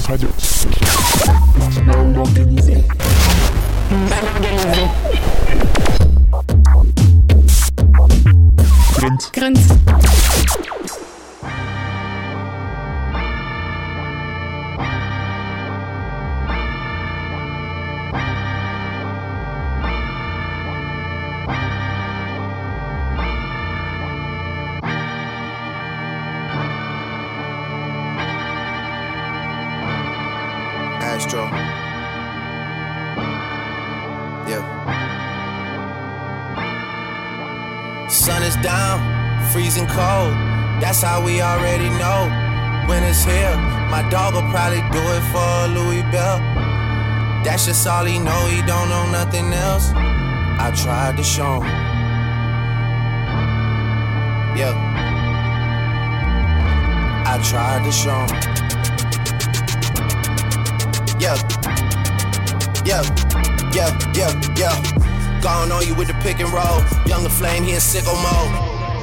Radio. Mal organisé. Mal organisé. Grunt. Astro. Yeah. Sun is down, freezing cold. That's how we already know. Winter's here. My dog will probably do it for Louis Bell. That's just all he know. He don't know nothing else. I tried to show him. Yeah. I tried to show him. Yeah, Gone on you with the pick and roll. Younger flame, he in sicko mode.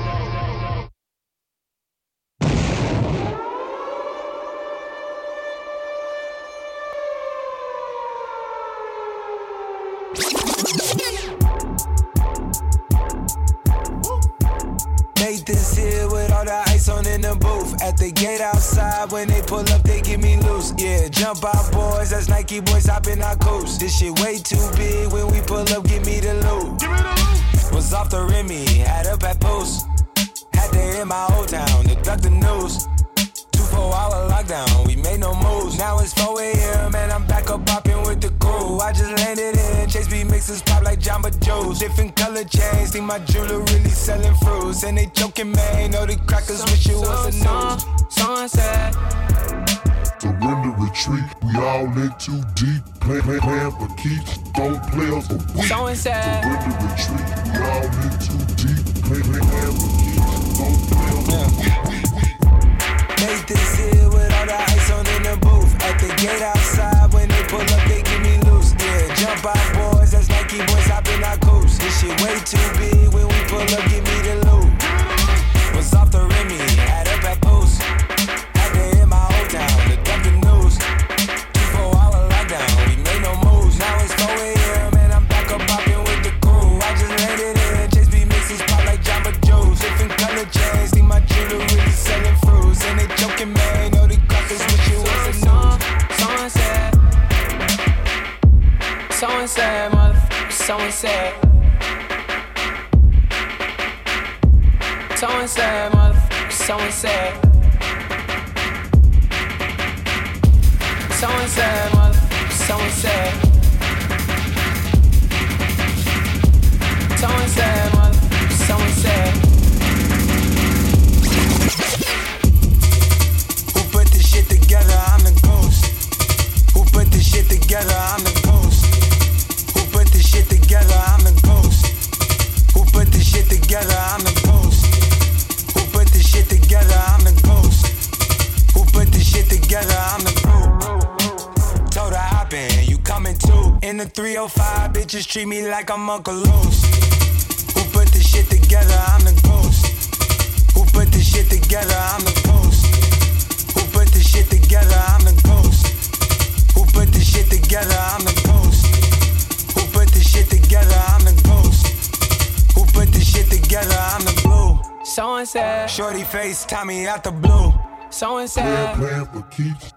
Nathan's here with all the ice on in the booth. At the gate outside, when they pull up, they give me loose. Yeah, jump out, boys. That's Nike boys hopping our coast. This shit way too big. When we pull up, give me the loot. Was off the Remy, had up at post. Had to hit my old town to duck the news. 24-hour lockdown, we made no moves. Now it's 4 a.m. and I'm back up popping with the crew. I just landed in Chase B mixes pop like Jamba Joe's. Different color chains, think my jeweler really selling fruits. And they joking, man, know the crackers wish it was a news. Sunset. Surrender, retreat, we all in too deep. Plan for keeps, don't play us a week. Sunset. Surrender, retreat, we all in too deep. Plan for keeps, don't play us a week. Nathan's here with all the ice on in the booth. At the gate outside, when they pull up, they give me loose. Yeah, jump out, boys, that's Nike boys hopping our coast. This shit way too big, when we pull up, give me the loot. Was off the Remy, had up at post. Had to hit my old town to dump the news. 24-hour lockdown, we made no moves. Now it's 4 a.m. and I'm back up popping with the crew. I just landed in Chase B mixes pop like Jamba Joe's. Different color chains, think my jeweler really selling fruits. And they joking, man, know the crackers wish it was a news. Sunset. Sunset, motherfucker, sunset. Sunset, motherfucker, sunset. Sunset, motherfucker, sunset. Sunset, motherfucker, sunset. Who put this shit together? I'm the ghost. Who put this shit together? I'm the ghost. Who put this shit together? I'm the ghost. Who put this shit together? I'm the ghost. Who put this shit together? I'm the ghost. Who put this shit together? I'm the ghost. Told her hop in, you coming too. In the 305, bitches treat me like I'm Uncle Loose. Who put this shit together? I'm the ghost. Who put this shit together? I'm the ghost. Who put this shit together? I'm the ghost. Who put this shit together? I'm the ghost. Who put this shit together? I'm the ghost. Who put this shit together? I'm the blue. Someone said, shorty face, Tommy out the blue. Someone said, Plan for keeps.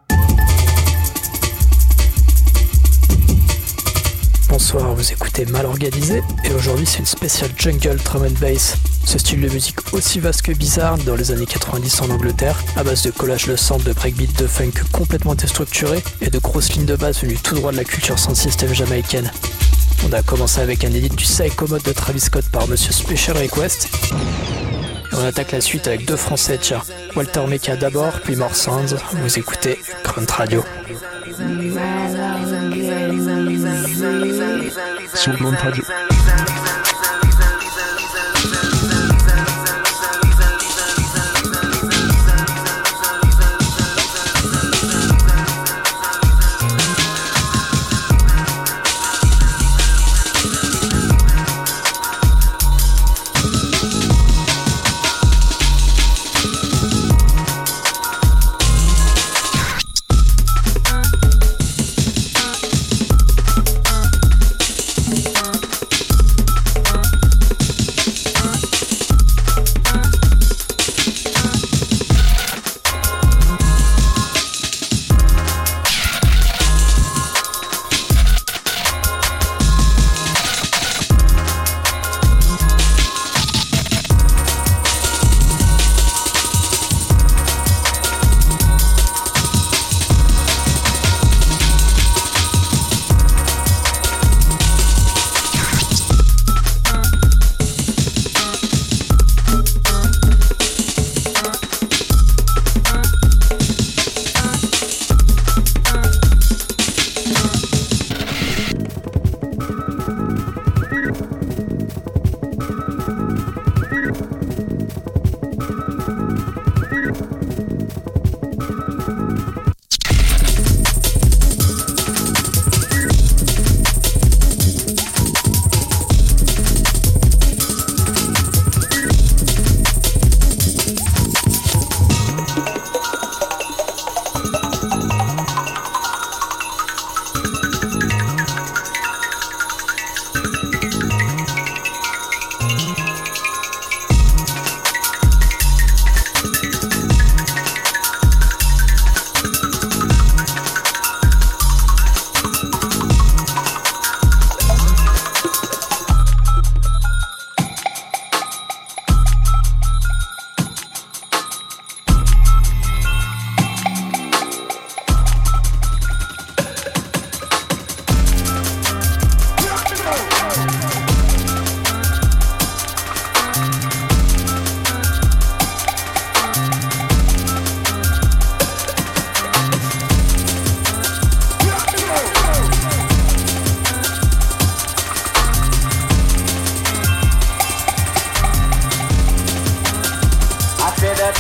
Bonsoir, vous écoutez Mal Organisé et aujourd'hui c'est une spéciale jungle drum and bass. Ce style de musique aussi vaste que bizarre dans les années 90 en Angleterre, à base de collage de samples, de breakbeat, de funk complètement déstructurés et de grosses lignes de basse venues tout droit de la culture sans système jamaïcaine. On a commencé avec un edit du Psycho Mode de Travis Scott par Monsieur Special Request. Et on attaque la suite avec deux français, tiens. Walter Meka d'abord, puis More Sounds. Vous écoutez Grunt Radio. Sur Grunt Radio.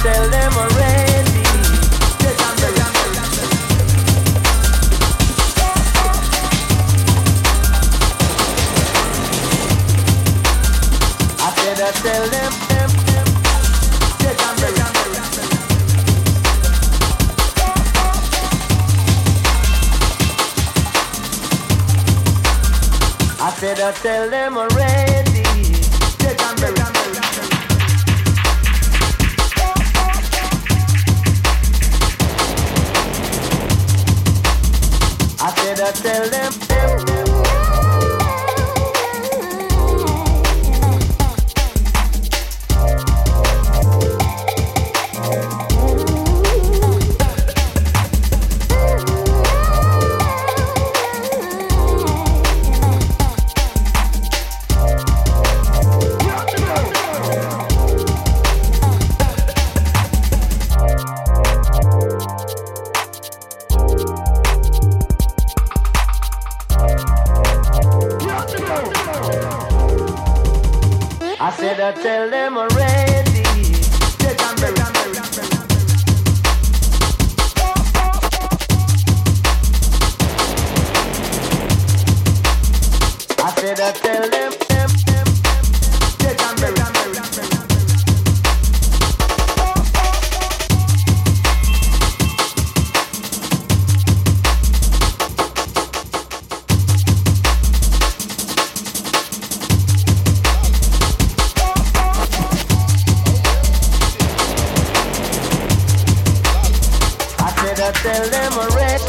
tell them already. I said I tell them. I said I tell them already. I said I tell them. I said I tell them already. I said I tell them. I tell them already.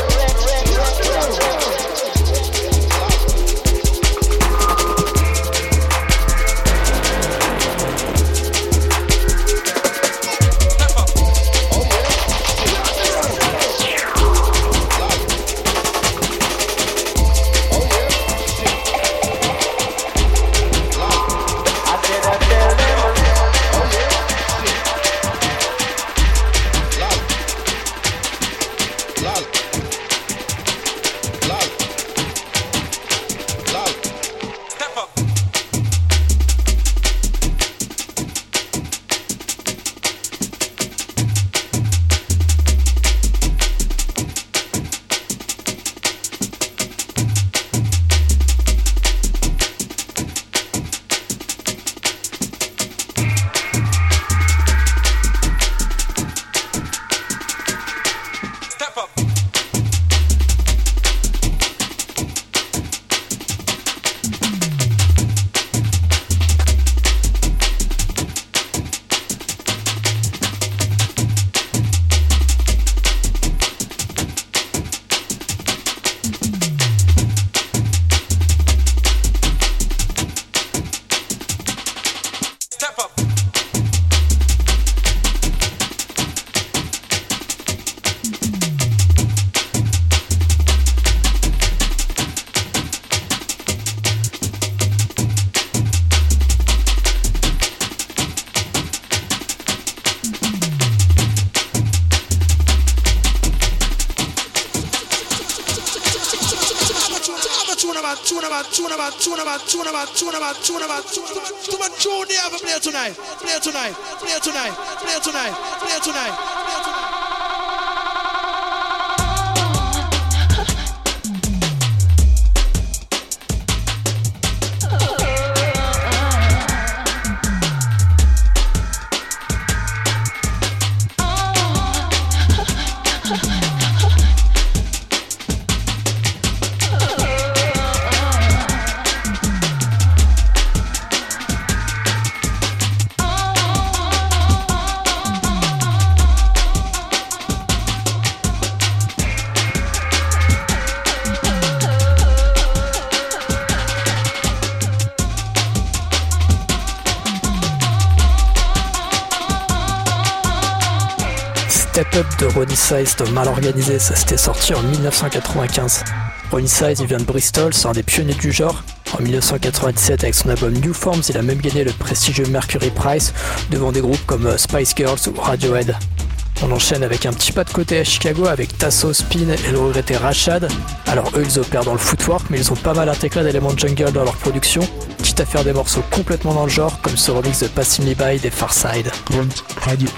Play tonight. Step Up de Ronnie Size de Mal Organisé, ça s'était sorti en 1995. Ronnie Size, il vient de Bristol, c'est un des pionniers du genre. En 1997, avec son album New Forms, il a même gagné le prestigieux Mercury Prize devant des groupes comme Spice Girls ou Radiohead. On enchaîne avec un petit pas de côté à Chicago avec Tasso, Spin et le regretté Rashad. Alors eux, ils opèrent dans le footwork, mais ils ont pas mal intégré d'éléments de jungle dans leur production. quitte à faire des morceaux complètement dans le genre, comme ce remix de Passing Me By des Pharcyde. Grunt Radio.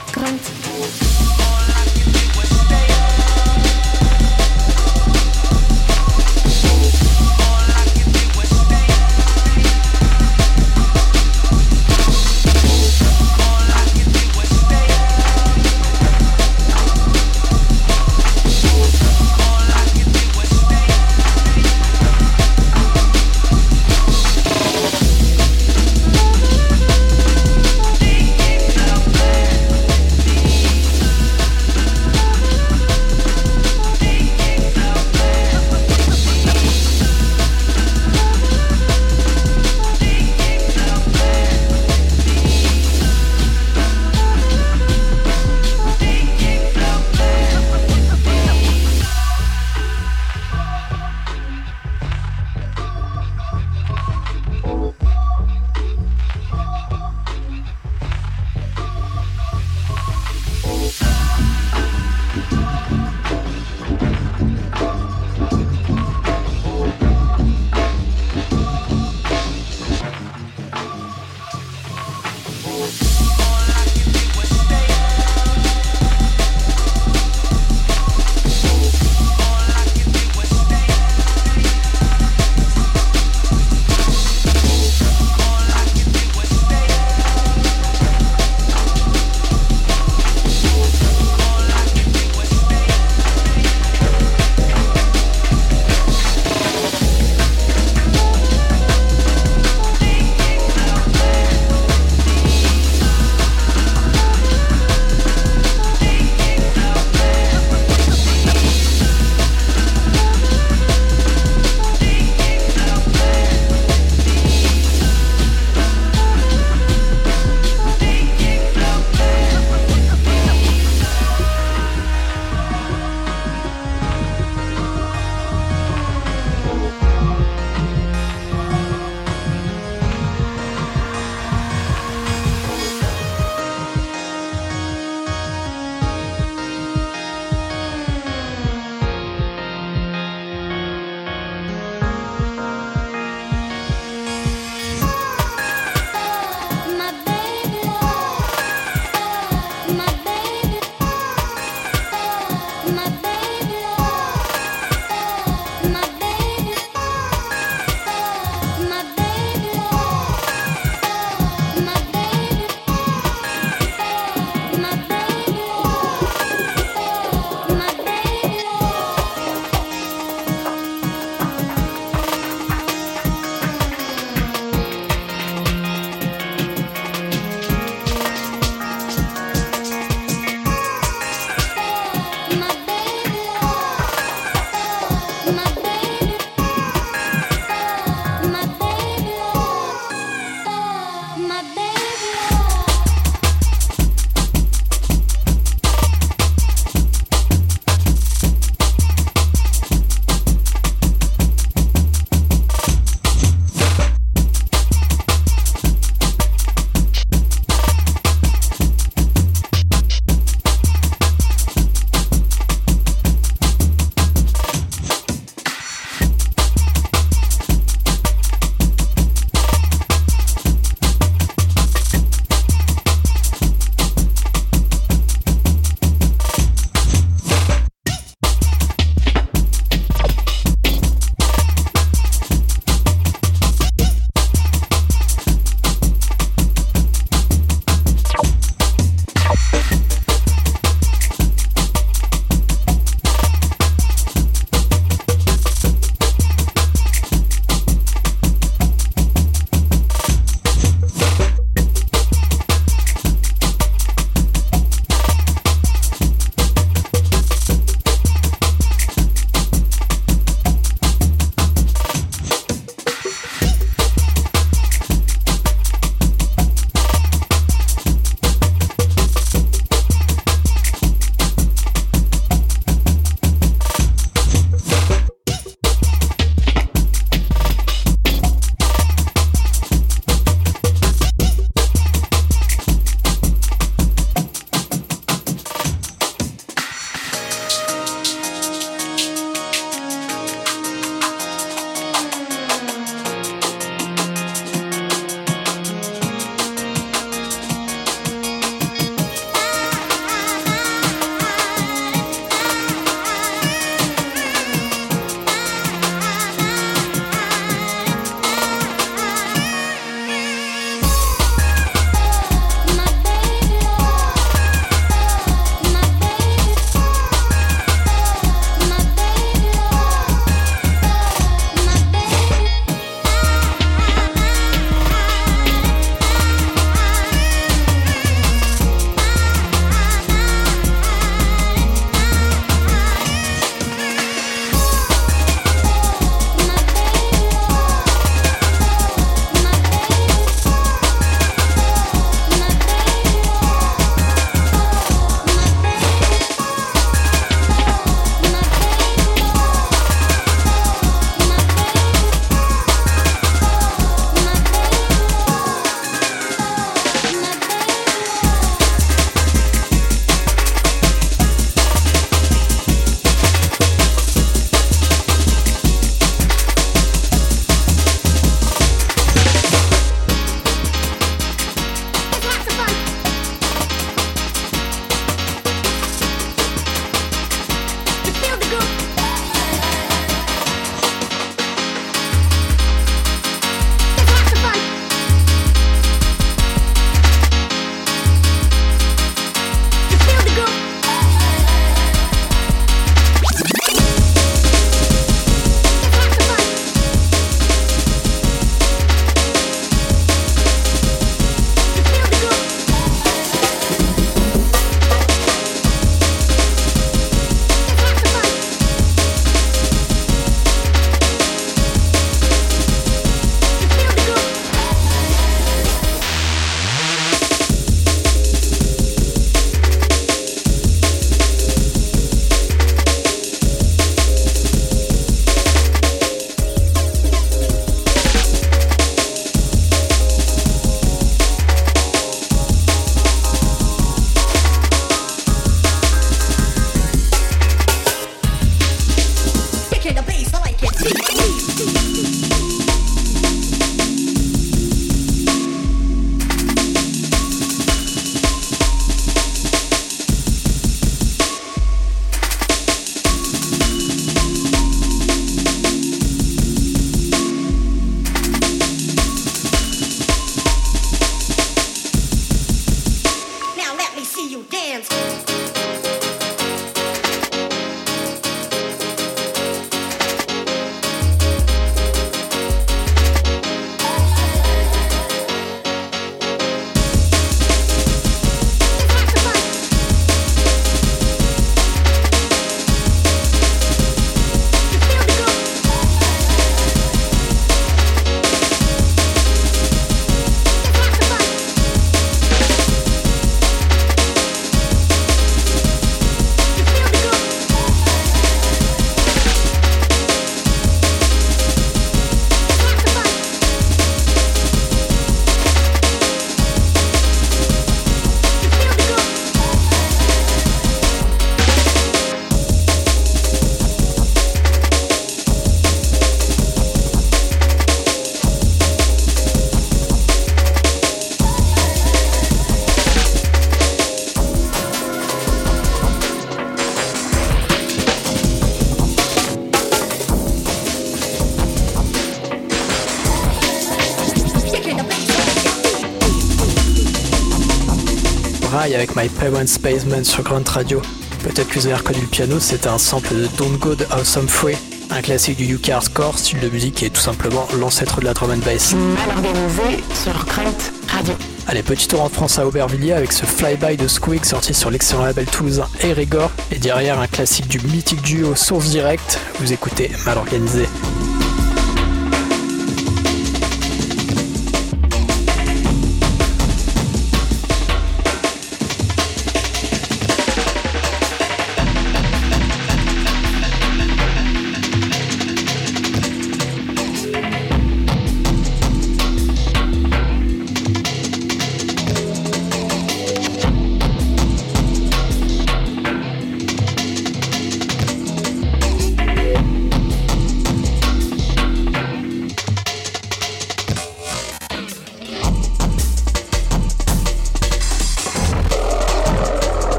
Avec My Parents Basement sur Grunt Radio. Peut-être que vous avez reconnu le piano, c'était un sample de Don't Go de Awesome Free, un classique du UK Hardcore, style de musique qui est tout simplement l'ancêtre de la drum and bass. Mal organisé sur Grunt Radio. Allez, petit tour en France à Aubervilliers avec ce Flyby de Squeak sorti sur l'excellent label toulousain Erigor, et derrière un classique du mythique duo Source Direct, vous écoutez Mal Organisé.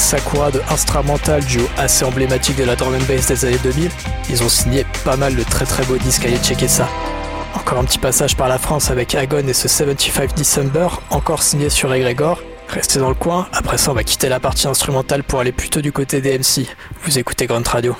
Sakura de Instrumental, duo assez emblématique de la drum and bass des années 2000. Ils ont signé pas mal de très très beaux disques, allez checker ça. Encore un petit passage par la France avec Agon et ce 75 December, encore signé sur Egregor. Restez dans le coin, après ça on va quitter la partie instrumentale pour aller plutôt du côté des MC. Vous écoutez Grunt Radio.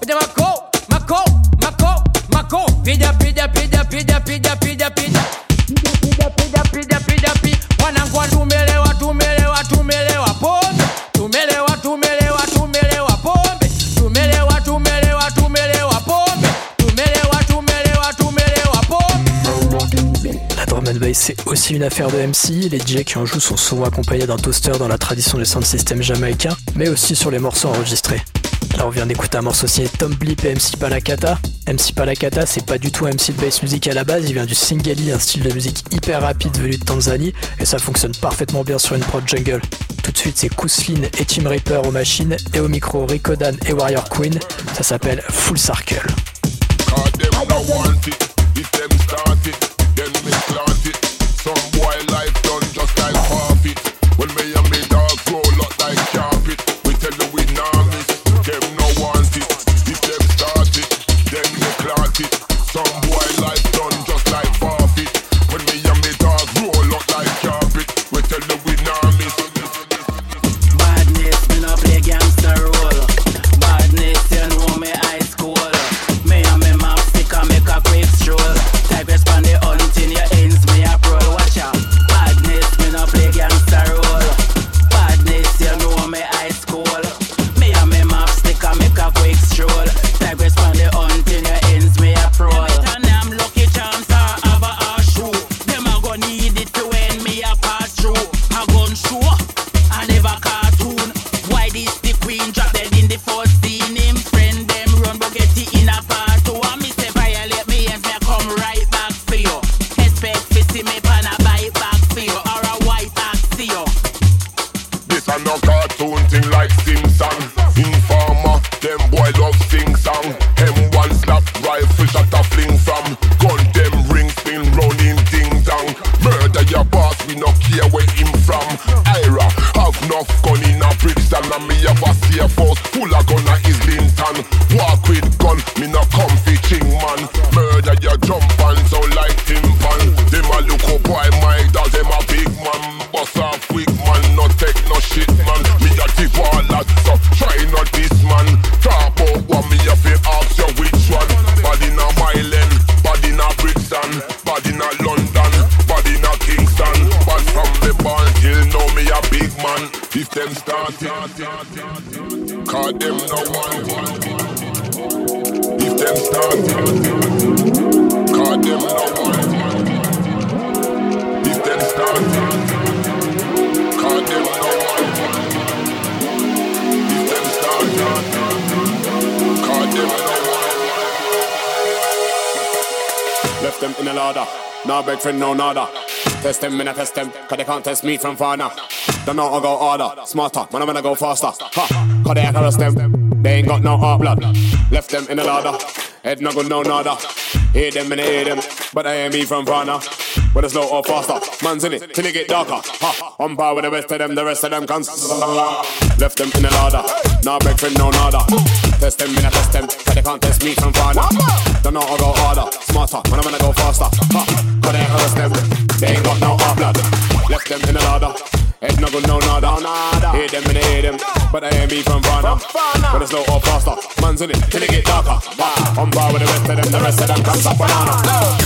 pida mako, pida wanangu tumelewa pombe, tumelewa pombe, tumelewa pombe. La drum and bass c'est aussi une affaire de MC, les DJ qui en jouent sont souvent accompagnés d'un toaster dans la tradition des sound systems jamaïcains, mais aussi sur les morceaux enregistrés. Là on vient d'écouter un morceau signé Tom Blip et MC Palakata. MC Palakata c'est pas du tout un MC de bass music à la base, il vient du Singali, un style de musique hyper rapide venu de Tanzanie, et ça fonctionne parfaitement bien sur une prod jungle. Tout de suite c'est Kouslin et Team Reaper aux machines, et au micro Rico Dan et Warrior Queen, ça s'appelle Full Circle. Left them in a ladder, no beg friend, no nada. Test them, I test them, cause they can't test me from far now. Don't know I go harder, smarter, man I'm gonna go faster. Ha, cause they harass them, they ain't got no heart blood. Left them in a ladder, head no good, no nada. Hear them and I hear them, but I ain't me from far now. Whether slow or faster, man's in it till it get darker. Ha, on par with the rest of them cans. Left them in a ladder, no beg friend, no nada. Test them, I test them, cause they can't test me from far now. Don't know I go harder, smarter, man I'm gonna go faster. Ha, cause they harass them, they ain't got no heart blood. Left them in a ladder, head no good, no nada. Hear them and I hear them, but I ain't me from far now. Whether slow or faster, man's in it till it get darker. Ha, on par with the rest of them cans up banana.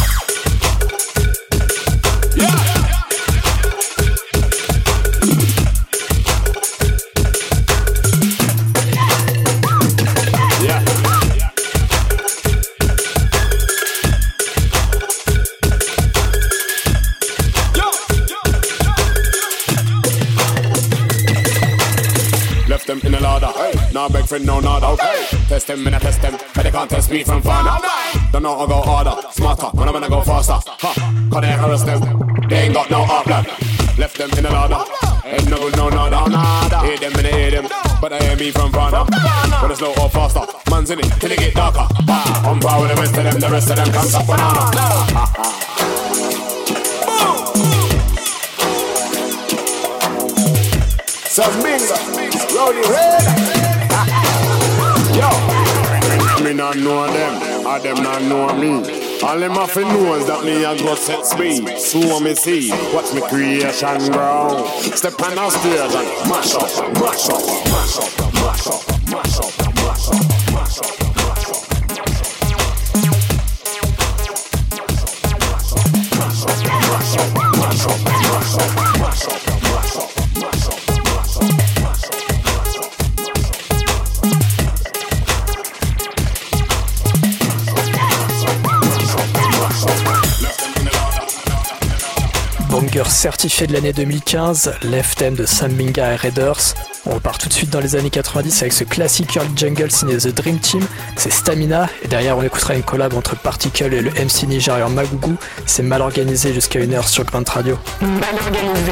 Them in a ladder, no beg friend, no nada. Test them, I test them, but they can't test me from far now. Don't know I go harder, smarter, man I'm gonna go faster. Ha, cause they harass them, they ain't got no heart blood. Left them in a ladder, head no good, no nada. Hear them and I hear them, but I ain't me from far now. Whether slow or faster, man's in it till it get darker. Ha, on par with the rest of them can't stop banana. Rowdy Red. Yo, me not know them, or them not know me. All them have to know is that me a go set speed. So me see, watch me creation grow. Step on the stage and mash up, mash up, mash up, mash up, mash up, mash up, mash up. banger certifié de l'année 2015, Left Hand de Sam Binga et Raiders. On repart tout de suite dans les années 90 avec ce classique Early Jungle signé The Dream Team, c'est Stamina, et derrière on écoutera une collab entre Particle et le MC nigérian Magougou, c'est Mal Organisé jusqu'à 1h sur Grunt Radio. Mal Organisé.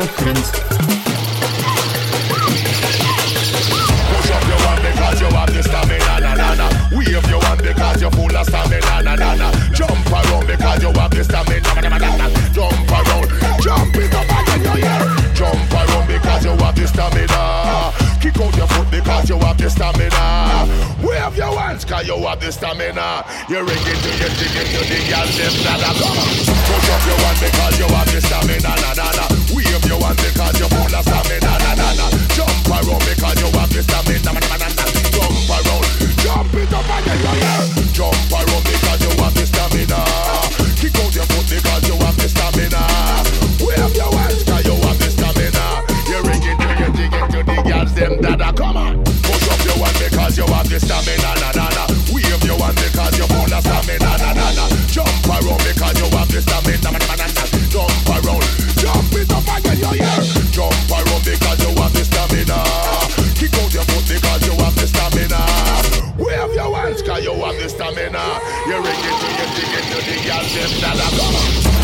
Because you have the stamina, na na na. Wave your hand because you're full of stamina, na na na. Jump around because you have the stamina, na na na. Jump around, jump it up again, you hear. Jump around because you have the stamina. Kick out your foot because you have the stamina. Wave your hands because you have the stamina. You ring it to you, dig it to the girls, them na na. Come on, push up your hand because you have the stamina, na na na. Wave your hand because you're full of stamina, na na na. Jump around because you have the stamina, na na na. Jump around, jump it up again, you hear. Jump around because you have the stamina. Kick out your foot because you have the stamina. Wave your hands because you have the stamina. You ring it to you, dig it to the girls, them dada. Come on, push up your hand because you have the stamina, na na na. Wave your hand because you're full of stamina, na na na. Jump around because you have the stamina, na na na. Jump around, jump it up again, you hear. Jump around because you have the stamina. Kick out your foot because you have the stamina. Wave your hands because you have the stamina. You ring it to you, dig it to the girls, them dada. Come on.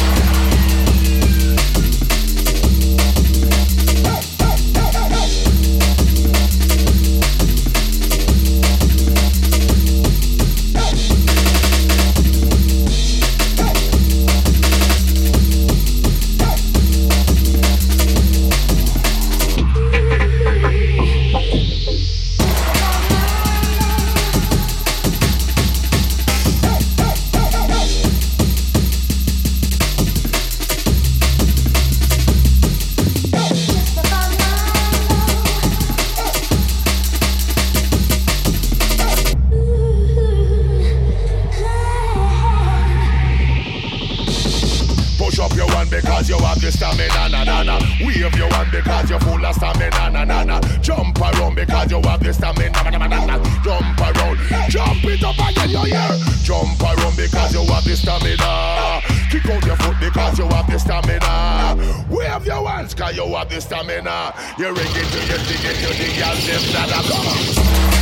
Because you have the stamina, na na na. Wave your hand because you're full of stamina, na na na. Jump around because you have the stamina, na na na na. Jump around, jump it up again, you hear. Jump around because you have the stamina. Kick out your foot because you have the stamina. Wave your hands because you have the stamina. You ring it to you, dig it to the girls, them dada. Come on.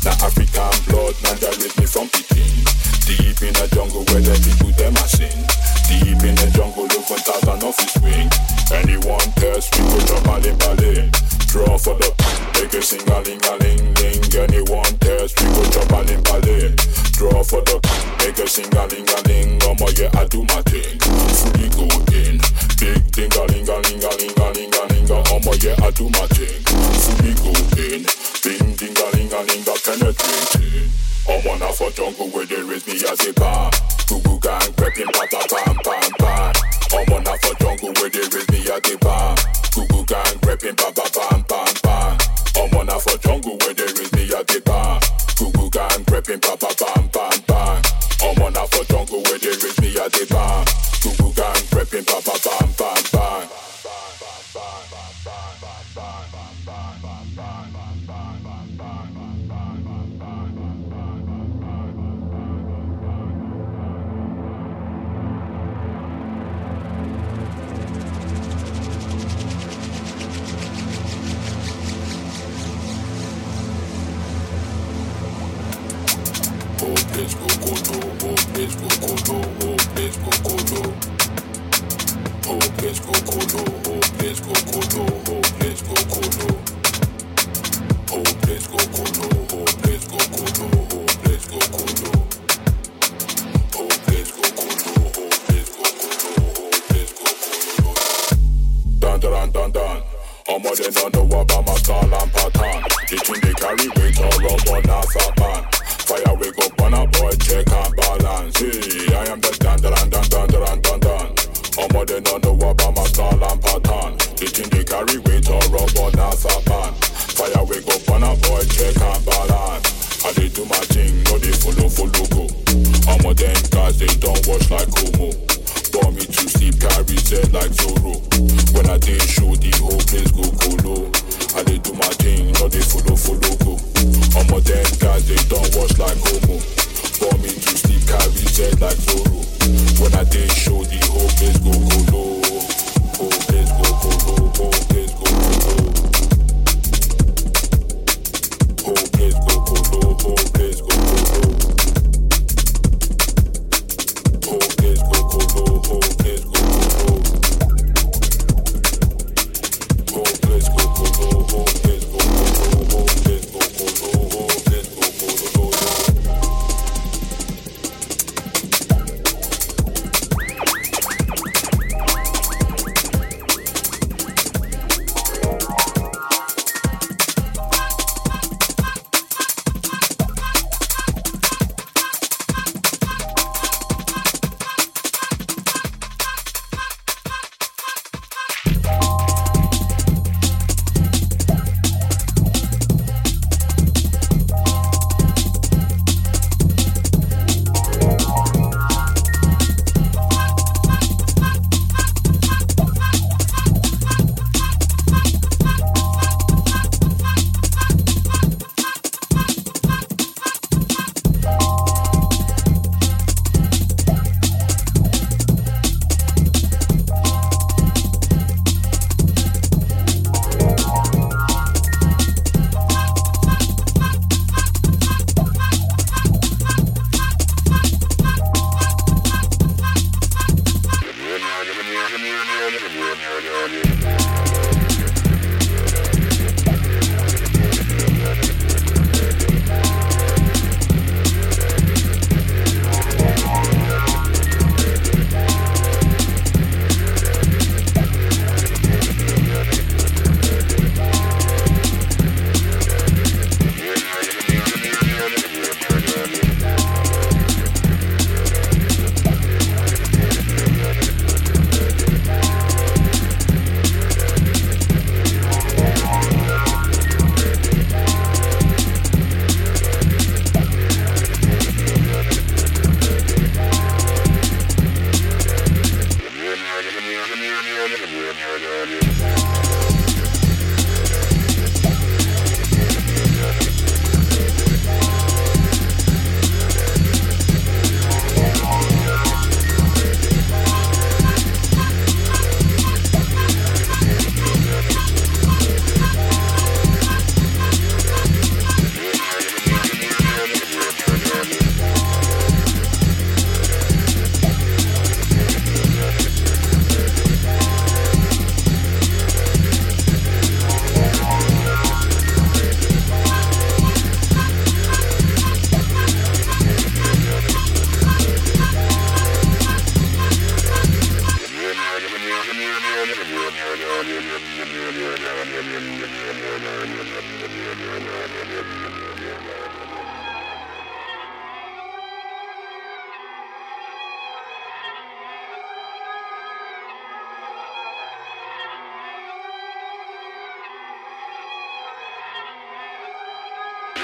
African blood, man, that raised me from Peking. Deep in the jungle where the people them are sin. ling-a-ling-a-ling-ling. Anyone test, we go jump a limp-a-ling. Draw for the make a sing-a-ling-a-ling. Yeah, I do my thing. Fully go in. Big ding-a-ling-a-ling-a-ling-a-ling-a-ling. Yeah, I do my thing. Fully go in. Bing ding-a-ling-a-ling-a penetrating. I'm on a for jungle where they raise me as a bar. Google gang prepping pa-pa-pam-pam-pam. I'm on a for jungle where they raise me as a bar. Google gang prepping pa-pa-pam-pam-pam. I'm on a for jungle where they raise me as a bar. Google gang prepping pa-pa-pam-pam-pam. I'm on a for jungle where they raise me as a bar. Google gang prepping pa-pa-pam-pam-pam.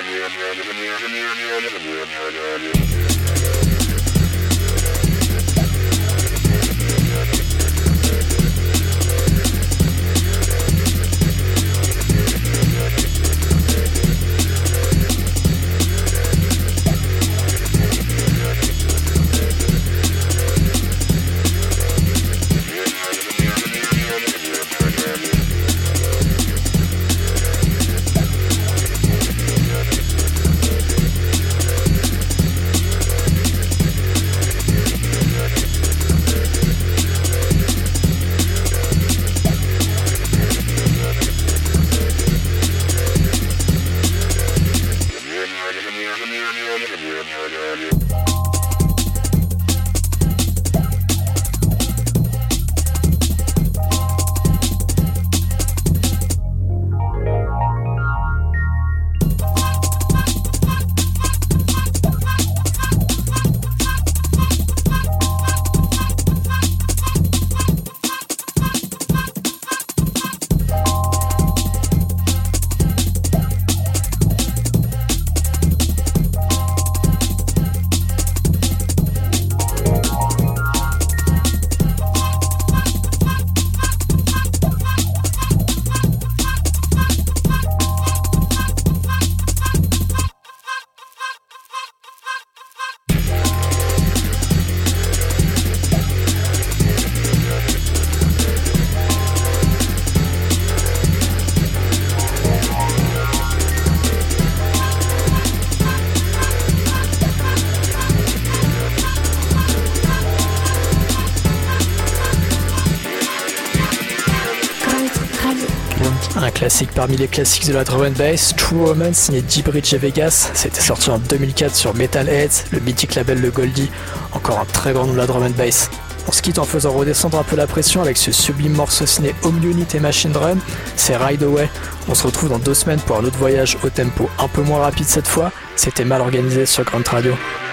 Un classique parmi les classiques de la drum and bass, True Romance signé D-Bridge et Vegas, c'était sorti en 2004 sur Metalheads, le mythique label de Goldie, encore un très grand nom de la drum and bass. On se quitte en faisant redescendre un peu la pression avec ce sublime morceau signé Home Unit et Machine Drum, c'est Ride Away. On se retrouve dans 2 semaines pour un autre voyage au tempo un peu moins rapide cette fois, c'était Mal Organisé sur Grunt Radio.